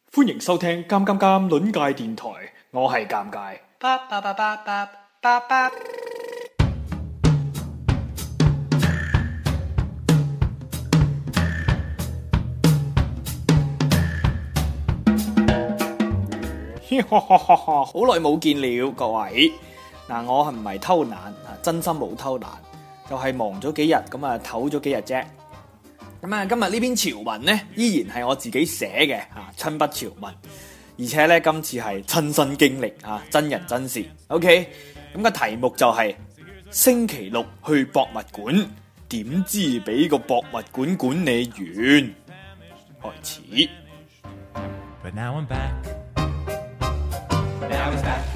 歡迎收聽《尷尷尷》論界電台，我係尷尬。好耐冇見了，各位。嗱，我係唔係偷懶啊？真心冇偷懶，就係忙咗幾日，咁啊唞咗幾日啫。咁啊，今日呢篇潮文呢，依然係我自己寫嘅親筆潮文，而且呢，今次係親身經歷真人真事。OK， 咁個題目就係星期六去博物館，點知俾個博物館管理員開始。 But now I'm back. Now he's back.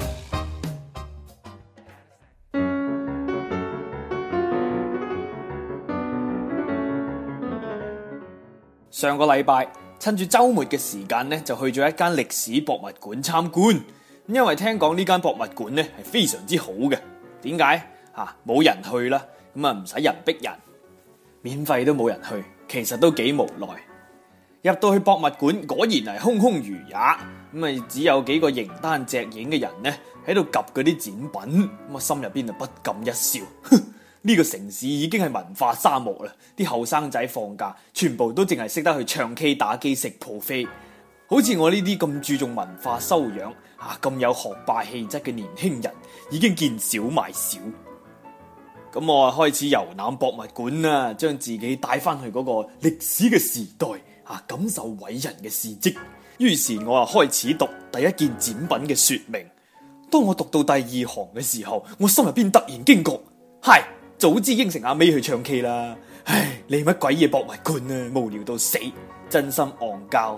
上個禮拜趁住週末嘅時間呢，就去咗一間歷史博物館參觀。因為聽講呢間博物館呢係非常之好嘅。點解？冇人去啦，咁啊唔使人逼人，免費都冇人去，其實都幾無奈。入到去博物館，果然係空空如也，咁啊只有幾個形單隻影嘅人呢喺度及嗰啲展品，咁啊心入邊就不禁一笑。呢個城市已經係文化沙漠啦，啲後生仔放假全部都淨係識得去唱 K 打機食 buffet，好似我呢啲咁注重文化修養咁有學霸氣質嘅年輕人已經見少買少。咁我開始遊覽博物館啦，將自己帶翻去嗰個歷史嘅時代感受偉人嘅事蹟。於是我開始讀第一件展品嘅說明。當我讀到第二行嘅時候，我心入邊突然驚覺，係早知應承阿 May 去唱 K 啦！唉，你乜鬼嘢博物館啊，無聊到死，真心戇膠。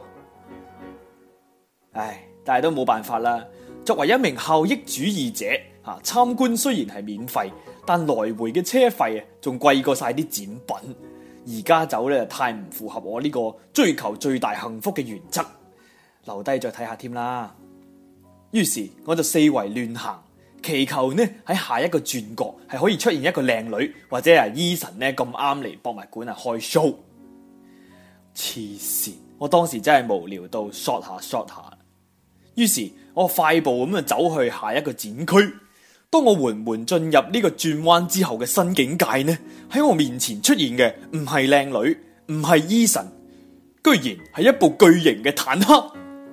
唉，但係都冇辦法啦。作為一名效益主義者，參觀雖然係免費，但來回嘅車費仲貴過晒啲展品。而家走咧太唔符合我呢個追求最大幸福嘅原則，留低再睇下添啦。於是我就四圍亂行。祈求呢喺下一個轉角係可以出現一個靚女或者係Eason呢咁啱嚟博物館開 show。黐線！我當時真係無聊到 short 下。於是我快步咁走去下一個展區。當我緩緩進入呢個轉彎之後嘅新境界呢，喺我面前出現嘅唔係靚女，唔係Eason，居然係一部巨型嘅坦克。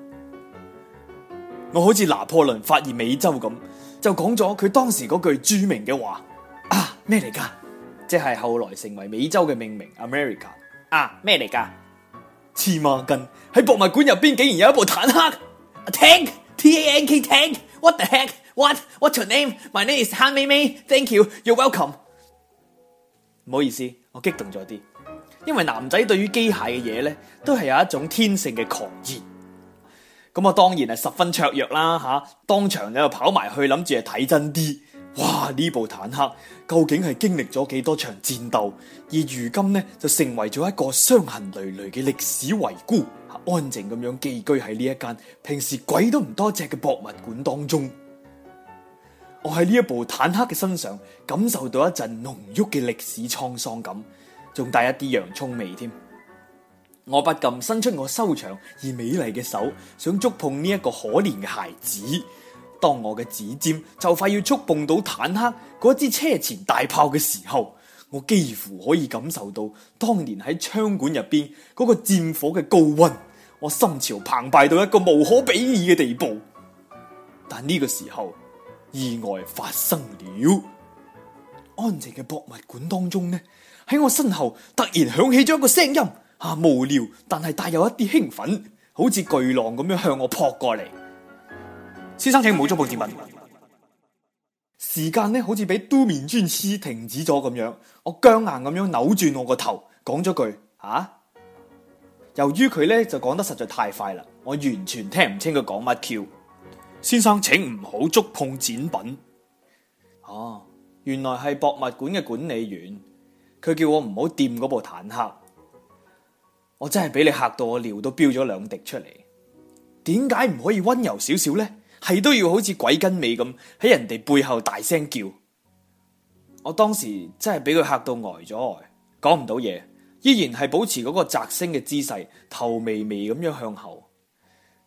我好似拿破崙發現美洲咁，就講咗佢當時嗰句著名嘅話咩嚟噶？即係後來成為美洲嘅命名 America 咩嚟噶？黐孖筋，喺博物館入邊竟然有一部坦克 Tank T-A-N-K Tank What the heck What's your name My name is Han Mei Mei Thank you You're welcome。 唔好意思，我激動咗啲，因為男仔對於機械嘅嘢呢都係有一種天性嘅狂熱。咁我當然係十分雀躍啦當場就跑埋去諗住係睇真啲。哇！呢部坦克究竟係經歷咗幾多場戰鬥，而如今呢就成為咗一個傷痕累累嘅歷史遺孤，安靜咁樣寄居喺呢一間平時鬼都唔多隻嘅博物館當中。我喺呢一部坦克嘅身上感受到一陣濃郁嘅歷史滄桑感，仲帶一啲洋蔥味添。我不禁伸出我修長而美麗嘅手，想觸碰呢一個可憐嘅孩子。當我嘅指尖就快要觸碰到坦克嗰支車前大炮嘅時候，我幾乎可以感受到當年喺槍管入邊嗰個戰火嘅高溫，我心潮澎湃到一個無可比擬嘅地步。但呢個時候，意外發生了。安靜嘅博物館當中呢，喺我身後突然響起咗一個聲音。無聊，但係帶有一啲興奮，好似巨浪咁樣向我撲過嚟。先生，請唔好觸碰展品。時間呢好似俾都面專師停止咗咁樣，我僵硬咁樣扭轉我個頭，講咗句由於佢呢就講得實在太快啦，我完全聽唔清佢講乜 Q。先生，請唔好觸碰展品。原來係博物館嘅管理員，佢叫我唔好掂嗰部坦克。我真係俾你嚇到我尿都飆咗兩滴出嚟。點解唔可以溫柔少少呢？係都要好似鬼跟尾咁喺人哋背後大聲叫。我當時真係俾佢嚇到呆咗，講唔到嘢，依然係保持嗰個嘖聲嘅姿勢，頭微微咁樣向後。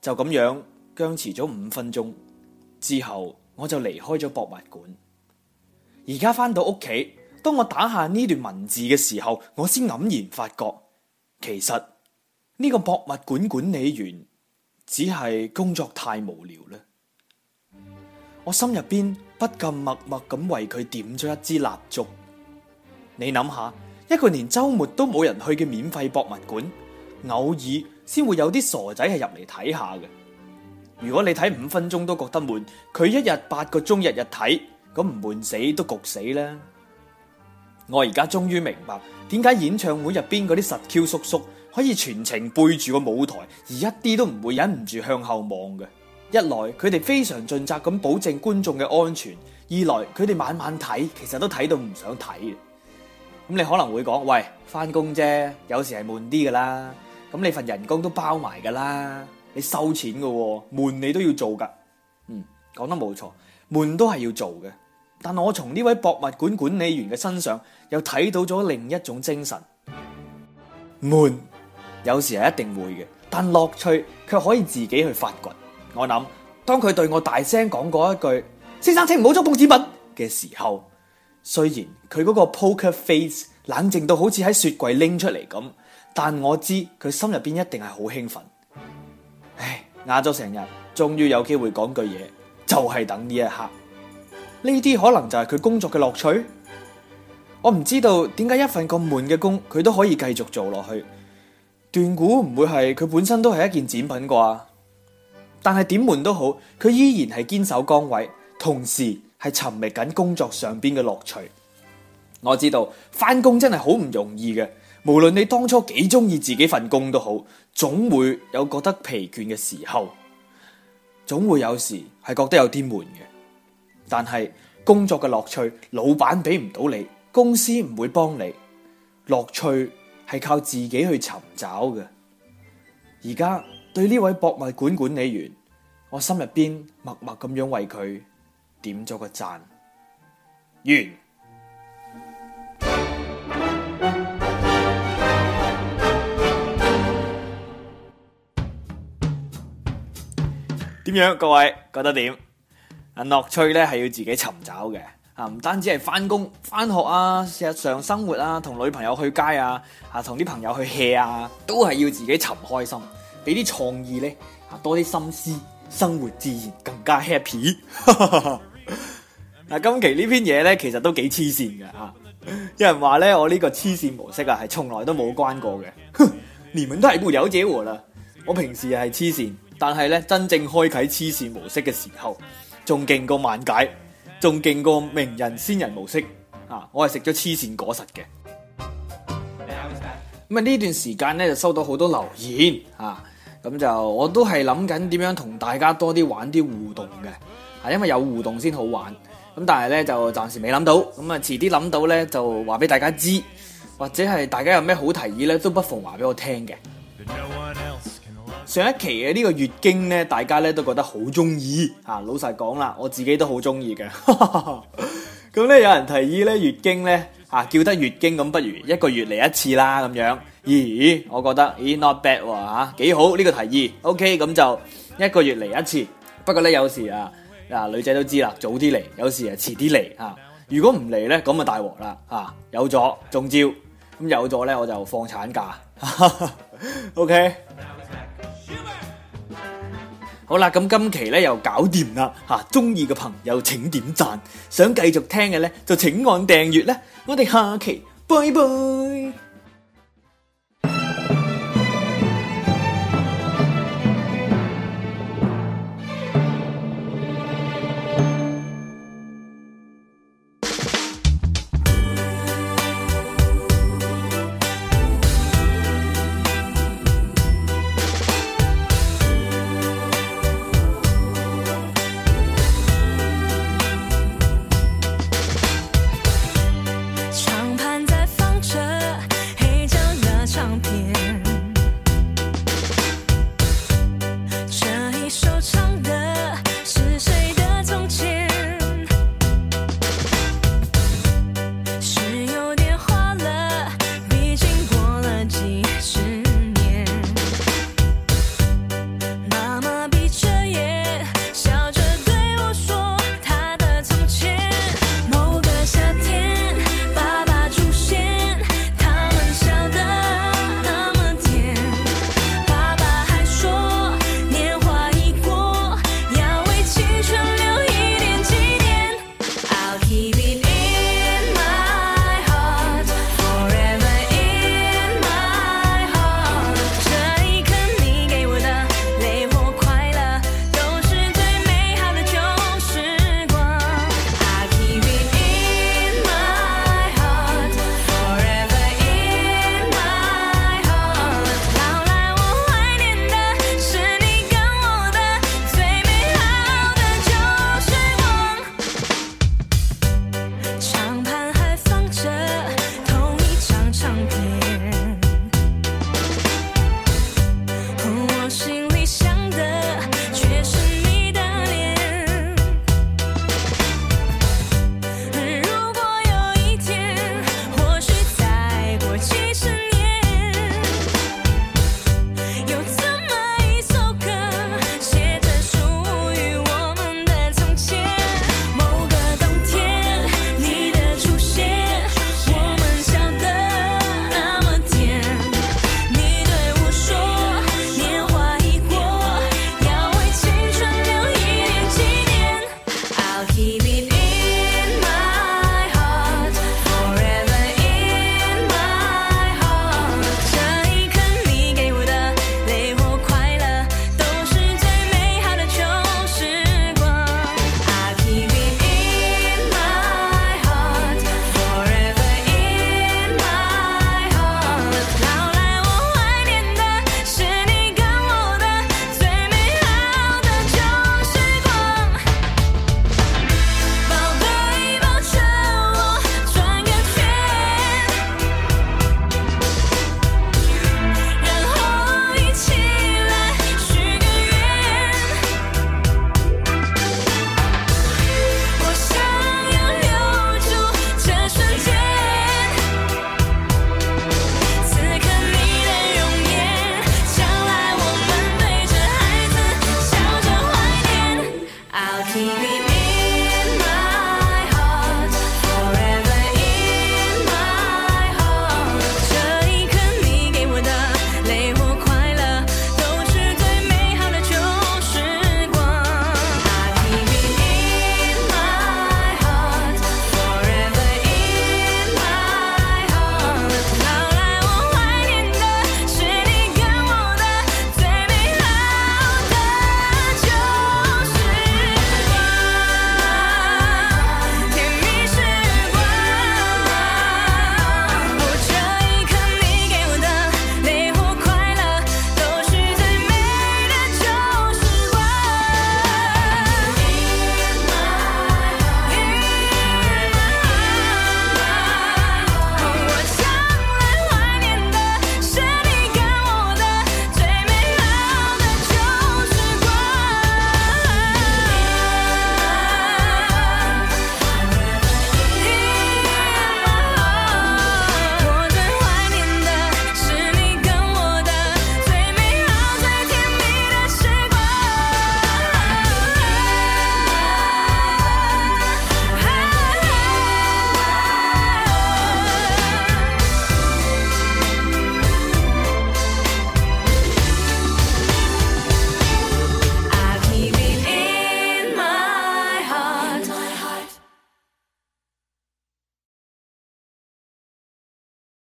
就咁樣僵持咗5分鐘之後，我就離開咗博物館。而家翻到屋企，當我打下呢段文字嘅時候，我先黯然發覺，其實呢個博物館管理員只係工作太無聊啦。我心入邊不禁默默咁為佢點咗一支蠟燭。你諗下，一個連周末都冇人去嘅免費博物館，偶爾先會有啲傻仔係入嚟睇下嘅。如果你睇5分鐘都覺得悶，佢一日8個鐘日日睇，咁唔悶死都焗死啦。我而家終於明白點解演唱會入邊嗰啲實 Q 叔叔可以全程背住個舞台，而一啲都唔會忍唔住向後望嘅。一來佢哋非常盡責咁保證觀眾嘅安全，二來佢哋晚晚睇，其實都睇到唔想睇嘅。咁你可能會講，喂，翻工啫，有時係悶啲噶啦。咁你份人工都包埋噶啦，你收錢噶喎，悶你都要做噶。講得冇錯，悶都係要做嘅。但我從呢位博物館管理員嘅身上又睇到咗另一種精神。悶有時係一定會嘅，但樂趣卻可以自己去發掘。我諗，當佢對我大聲講過一句先生請唔好觸碰紙品嘅時候，雖然佢嗰個 poker face 冷靜到好似喺雪櫃拎出嚟咁，但我知佢心入邊一定係好興奮。唉，壓咗成日，終於有機會講句嘢，就係等呢一刻。呢啲可能就係佢工作嘅樂趣。我唔知道點解一份咁悶嘅工，佢都可以繼續做落去。斷估唔會係佢本身都係一件展品啩？但係點悶都好，佢依然係堅守崗位，同時係尋覓緊工作上邊嘅樂趣。我知道返工真係好唔容易嘅，無論你當初幾中意自己份工都好，總會有覺得疲倦嘅時候，總會有時係覺得有啲悶嘅。但係工作嘅樂趣，老闆俾唔到你，公司唔會幫你，樂趣係靠自己去尋找嘅。而家對呢位博物館管理員，我心入邊默默咁樣為佢點咗個讚。完。點樣？各位覺得點？樂趣咧係要自己尋找嘅。唔單止係翻工翻學啊，日常生活啊，同女朋友去街啊，同啲朋友去 hea 啊，都係要自己尋開心，俾啲創意咧，多啲心思，生活自然更加 happy。今期呢篇嘢咧，其實都幾黐線嘅吓。有人話咧，我呢個黐線模式係從來都冇關過嘅。哼，你們都係沒了解我啦。我平時係黐線，但係咧真正開啟黐線模式嘅時候，仲勁過萬解，仲勁過名人仙人模式我係食咗黐線果實嘅。咁呢段時間咧就收到好多留言咁就我都係諗緊點樣同大家多啲玩啲互動嘅因為有互動先好玩。咁但係咧就暫時未諗到，咁遲啲諗到咧就話俾大家知，或者係大家有咩好提議咧，都不妨話俾我聽嘅。上一期嘅呢個月經咧，大家咧都覺得好中意老實講啦，我自己都好中意嘅。咁咧有人提議咧月經咧叫得月經，咁不如一個月嚟一次啦咁樣。咦，我覺得not bad 喎幾好呢個提議。OK， 咁就一個月嚟一次。不過咧有時女仔都知啦，早啲嚟，有時遲啲嚟如果唔嚟咧，咁啊大鑊啦有咗中招，咁有咗咧我就放產假。OK。好啦，咁今期咧又搞掂啦中意嘅朋友請點讚，想繼續聽嘅咧就請按訂閱咧。我哋下期拜拜。